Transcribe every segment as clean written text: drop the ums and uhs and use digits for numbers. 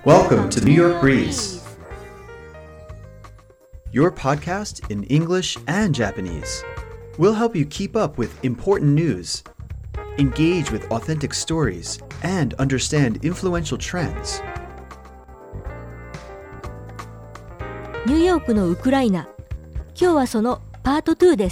Welcome to the New York Breeze, your podcast in English and Japanese. We'll help you keep up with important news, engage with authentic stories, and understand influential trends. ニューヨークのウクライナ。今日はそのパート2です。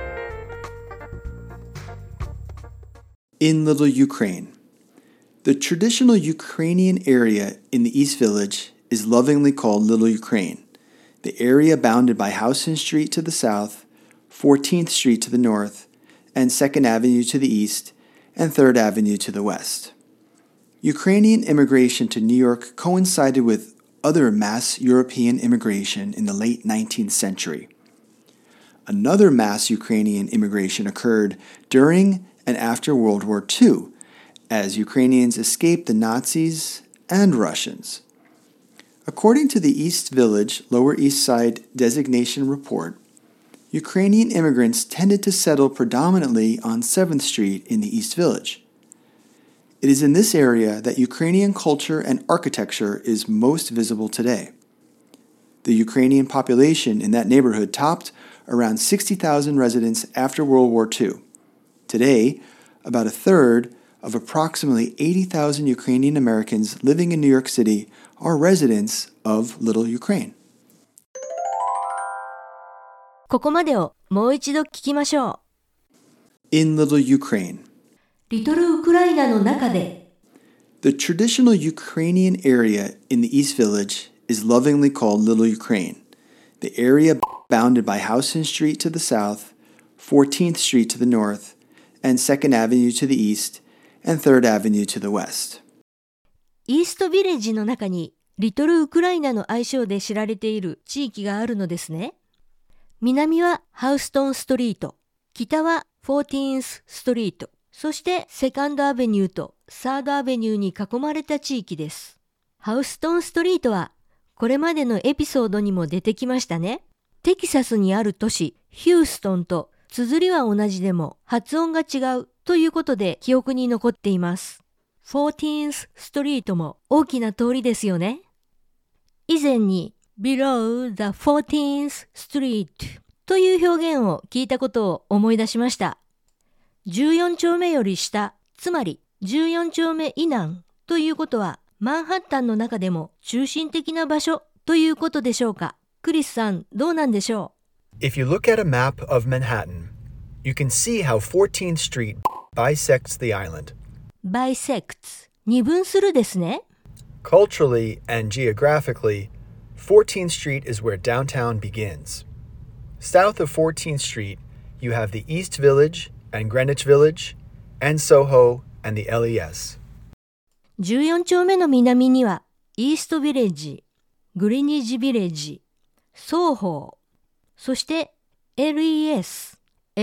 In Little Ukraine. The traditional Ukrainian area in the East Village is lovingly called Little Ukraine. The area bounded by Houston Street to the south, 14th Street to the north, and 2nd Avenue to the east, and 3rd Avenue to the west. Ukrainian immigration to New York coincided with other mass European immigration in the late 19th century. Another mass Ukrainian immigration occurred during and after World War II, as Ukrainians escaped the Nazis and Russians. According to the East Village, Lower East Side designation report, Ukrainian immigrants tended to settle predominantly on 7th Street in the East Village. It is in this area that Ukrainian culture and architecture is most visible today. The Ukrainian population in that neighborhood topped around 60,000 residents after World War II. Today, about a third of approximately 80,000 Ukrainian Americans living in New York City are residents of Little Ukraine. ここまでをもう一度聞きましょう。 In Little Ukraine. リトルウクライナの中で。 The traditional Ukrainian area in the East Village is lovingly called Little Ukraine. The area bounded by Houston Street to the south, 14th Street to the north, and 2nd Avenue to the east, and 3rd Avenue to the west. イーストビレッジの中にリトルウクライナの愛称で知られている地域があるのですね。南はハウストンストリート、北は 14th ストリート、そしてセカンドアベニューとサードアベニューに囲まれた地域です。ハウストンストリートはこれまでのエピソードにも出てきましたね。テキサスにある都市ヒューストンと綴りは同じでも発音が違うということで記憶に残っています。14th ストリートも大きな通りですよね。以前に Below the 14th Street という表現を聞いたことを思い出しました。14丁目より下、つまり14丁目以南ということはマンハッタンの中でも中心的な場所ということでしょうか。クリスさん、どうなんでしょう？ If you look at a map of Manhattan, you can see how 14th Street bisects the island. Bisects 二分するですね。 Culturally and geographically, 14th Street is where downtown begins. South of 14th Street, you have the East Village and Greenwich Village, and Soho and the LES. 14丁目の南にはイーストビレッジ、グリニッジビレッジ、ソーホー、そしてLES、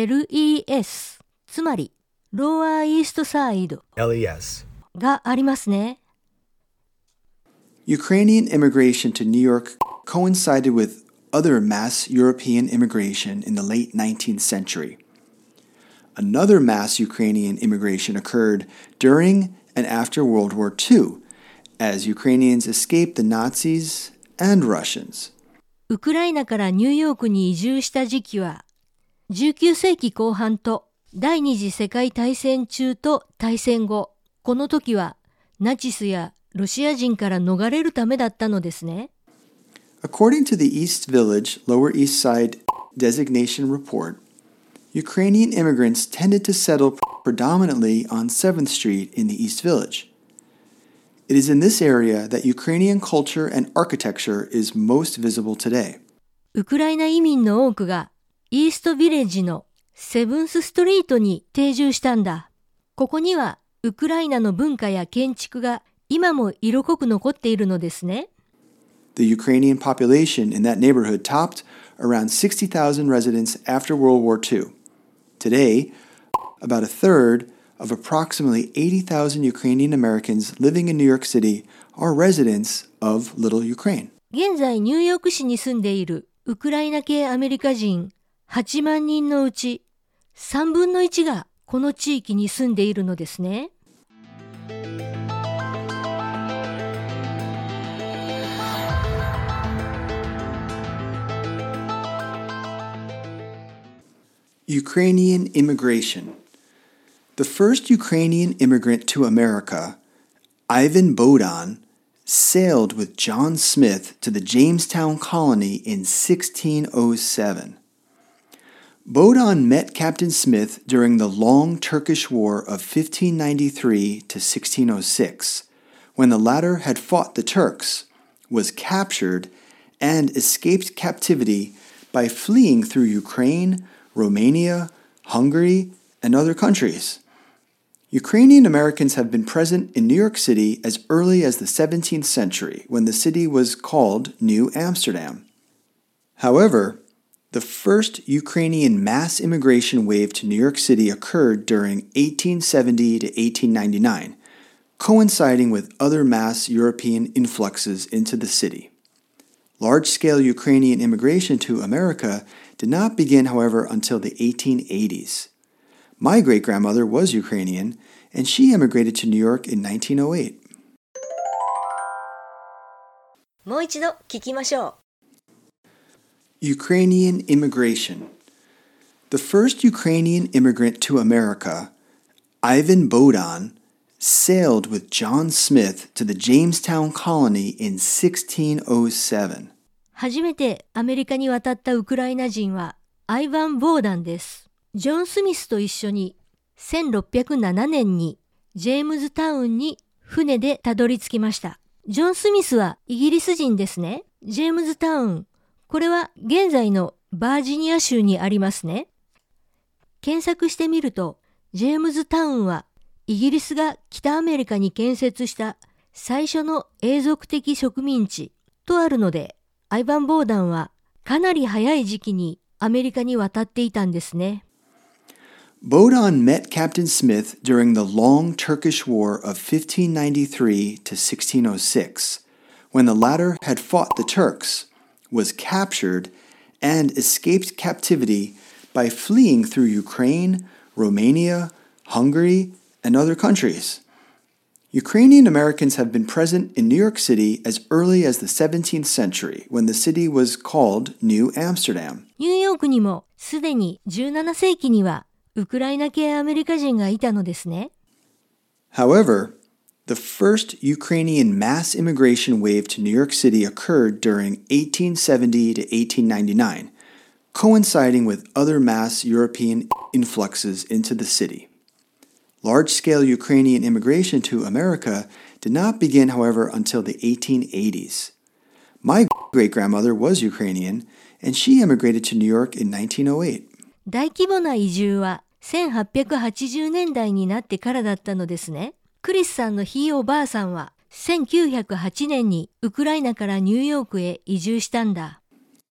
つまりローアーイーストサイド LES がありますね。 Ukrainian immigration to New York coincided with other mass European immigration in the late 19th century. Another mass Ukrainian immigration occurred during and after World War II, as Ukrainians escaped the Nazis and Russians. ウクライナからニューヨークに移住した時期は19世紀後半と第二次世界大戦中と大戦後、この時はナチスやロシア人から逃れるためだったのですね。 According to the East Village, Lower East Side designation report, Ukrainian immigrants tended to settle predominantly on 7th Street in the East Village. It is in this area that Ukrainian culture and architecture is most visible today. ウクライナ移民の多くがイーストビレッジのセブンスストリートに定住したんだ。ここにはウクライナの文化や建築が今も色濃く残っているのですね。 The Ukrainian population in that neighborhood topped around 60,000 residents after World War II. Today, about a third of approximately 80,000 Ukrainian Americans living in New York City are residents of Little Ukraine. 現在ニューヨーク市に住んでいるウクライナ系アメリカ人8万人のうち3分の1がこの地域に住んでいるのですね。 Ukrainian immigration. The first Ukrainian immigrant to America, Ivan Bohdan, sailed with John Smith to the Jamestown colony in 1607. Bohdan met Captain Smith during the long Turkish War of 1593 to 1606, when the latter had fought the Turks, was captured, and escaped captivity by fleeing through Ukraine, Romania, Hungary, and other countries. Ukrainian Americans have been present in New York City as early as the 17th century, when the city was called New Amsterdam. However, the first Ukrainian mass immigration wave to New York City occurred during 1870 to 1899, coinciding with other mass European influxes into the city. Large-scale Ukrainian immigration to America did not begin, however, until the 1880s. My great-grandmother was Ukrainian, and she immigrated to New York in 1908. もう一度聞きましょう。 Ukrainian immigration. The first Ukrainian immigrant to America, Ivan Bohdan, sailed with John Smith to the Jamestown colony in 1607. 初めてアメリカに渡ったウクライナ人はアイヴァン・ボーダンです。ジョン・スミスと一緒に1607年にジェームズタウンに船でたどり着きました。ジョン・スミスはイギリス人ですね。ジェームズタウン、これは現在のバージニア州にありますね。検索してみると、ジェームズタウンはイギリスが北アメリカに建設した最初の永続的植民地とあるので、アイヴァン・ボーダンはかなり早い時期にアメリカに渡っていたんですね。 Bohdan met Captain Smith during the long Turkish War of 1593 to 1606, when the latter had fought the Turks, was captured, and escaped captivity by fleeing through Ukraine, Romania, Hungary, and other countries. Ukrainian Americans have been present in New York City as early as the 17th century, when the city was called New Amsterdam. ニューヨークにもすでに17世紀にはウクライナ系アメリカ人がいたのですね。 However, the first Ukrainian mass immigration wave to New York City occurred during 1870 to 1899, coinciding with other mass European influxes into the city. Large-scale Ukrainian immigration to America did not begin, however, until the 1880s. My great-grandmother was Ukrainian, and she immigrated to New York in 1908. 大規模な移住は1880年代になってからだったのですね。クリスさんのひいおばあさんは1908年にウクライナからニューヨークへ移住したんだ。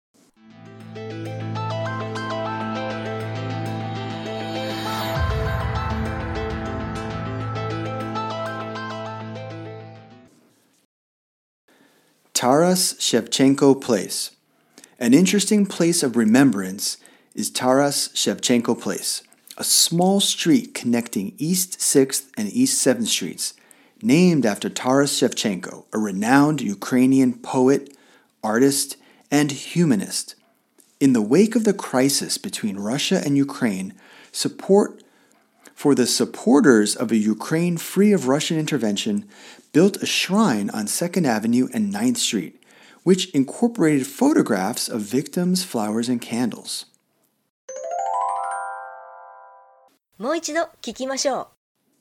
Taras Shevchenko Place. An interesting place of remembrance is Taras Shevchenko Place, a small street connecting East 6th and East 7th Streets, named after Taras Shevchenko, a renowned Ukrainian poet, artist, and humanist. In the wake of the crisis between Russia and Ukraine, support for the supporters of a Ukraine free of Russian intervention built a shrine on 2nd Avenue and 9th Street, which incorporated photographs of victims, flowers, and candles. もう一度聞きましょう。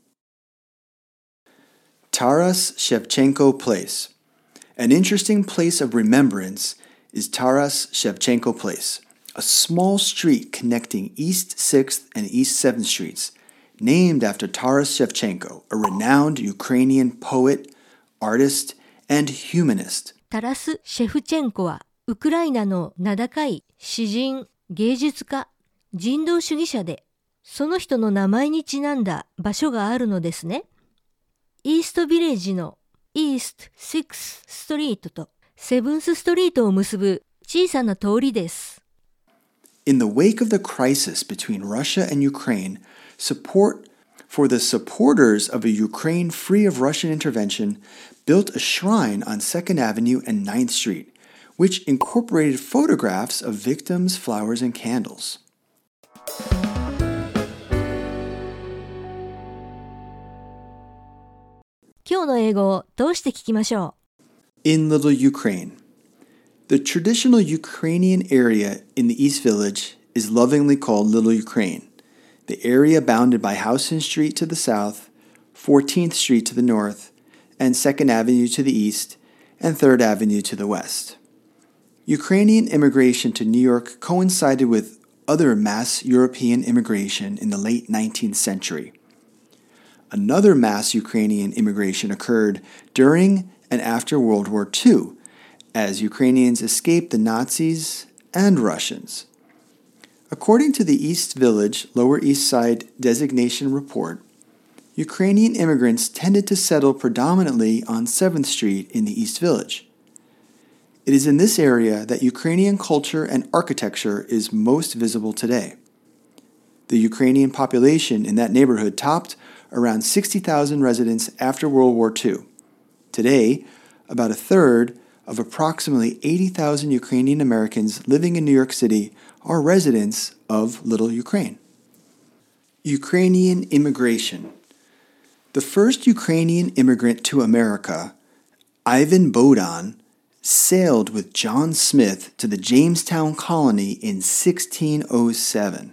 Taras Shevchenko Place. An interesting place of remembrance is Taras Shevchenko Place, a small street connecting East 6th and East 7th Streets, named after Taras Shevchenko, a renowned Ukrainian poet, artist, and humanist. タラス・シェフチェンコはウクライナの名高い詩人、芸術家、人道主義者で、その人の名前にちなんだ場所があるのですね。イーストビレッジのイースト6ストリートとセブンスストリートを結ぶ小さな通りです。 In the wake of the crisis between Russia and Ukraine, support for the supporters of a Ukraine free of Russian intervention built a shrine on 2nd Avenue and 9th Street, which incorporated photographs of victims, flowers, and candles. 今日の英語を通して聞きましょう。 In Little Ukraine. The traditional Ukrainian area in the East Village is lovingly called Little Ukraine. The area bounded by Houston Street to the south, 14th Street to the north, and 2nd Avenue to the east, and 3rd Avenue to the west. Ukrainian immigration to New York coincided with other mass European immigration in the late 19th century. Another mass Ukrainian immigration occurred during and after World War II, as Ukrainians escaped the Nazis and Russians. According to the East Village, Lower East Side designation report, Ukrainian immigrants tended to settle predominantly on 7th Street in the East Village. It is in this area that Ukrainian culture and architecture is most visible today. The Ukrainian population in that neighborhood topped around 60,000 residents after World War II. Today, about a third of approximately 80,000 Ukrainian Americans living in New York City are residents of Little Ukraine. Ukrainian immigration. The first Ukrainian immigrant to America, Ivan Bohdan, sailed with John Smith to the Jamestown colony in 1607.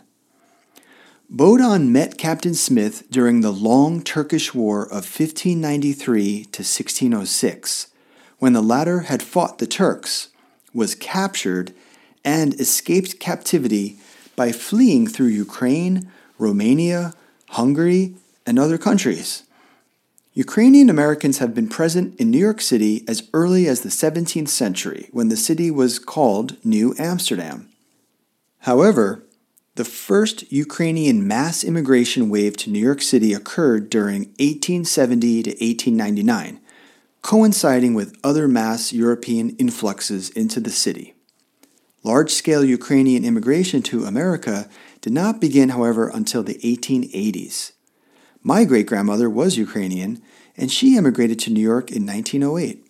Bohdan met Captain Smith during the long Turkish War of 1593 to 1606, when the latter had fought the Turks, was captured, and escaped captivity by fleeing through Ukraine, Romania, Hungary, and other countries. Ukrainian Americans have been present in New York City as early as the 17th century, when the city was called New Amsterdam. However, the first Ukrainian mass immigration wave to New York City occurred during 1870 to 1899, coinciding with other mass European influxes into the city. Large-scale Ukrainian immigration to America did not begin, however, until the 1880s. My great-grandmother was Ukrainian, and she immigrated to New York in 1908.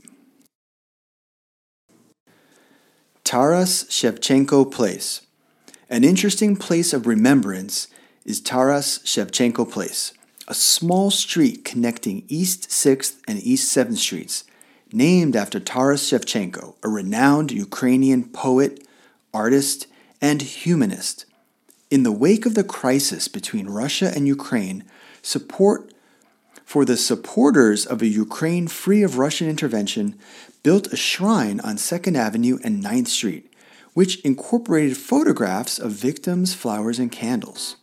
Taras Shevchenko Place. An interesting place of remembrance is Taras Shevchenko Place, a small street connecting East 6th and East 7th Streets, named after Taras Shevchenko, a renowned Ukrainian poet, artist, and humanist. In the wake of the crisis between Russia and Ukraine, support for the supporters of a Ukraine free of Russian intervention built a shrine on 2nd Avenue and 9th Street, which incorporated photographs of victims, flowers, and candles.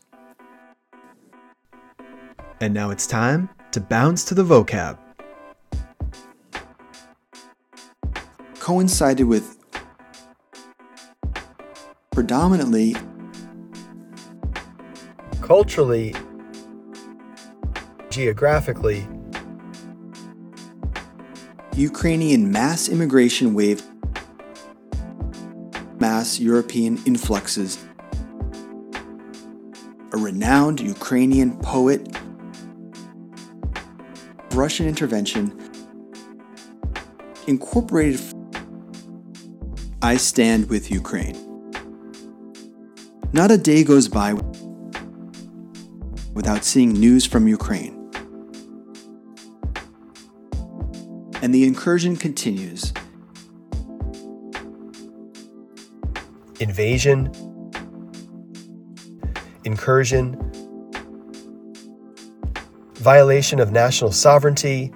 And now it's time to bounce to the vocab. Coincided with predominantly, Culturally, geographically, Ukrainian mass immigration wave, mass European influxes, a renowned Ukrainian poet, Russian intervention, incorporated. I stand with Ukraine. Not a day goes by without seeing news from Ukraine. And the incursion continues. invasion, incursion, violation of national sovereignty,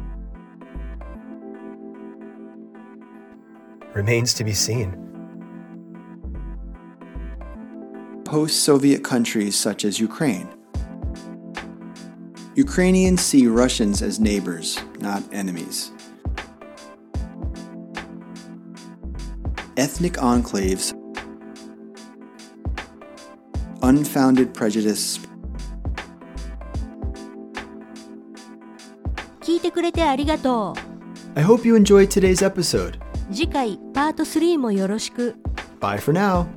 remains to be seen. Post-Soviet countries such as Ukraine. Ukrainians see Russians as neighbors, not enemies. Ethnic enclaves, unfounded prejudice. 聞いてくれてありがと I hope you enjoyed today's episode. う。次回パート3もよろしく。 Bye for now.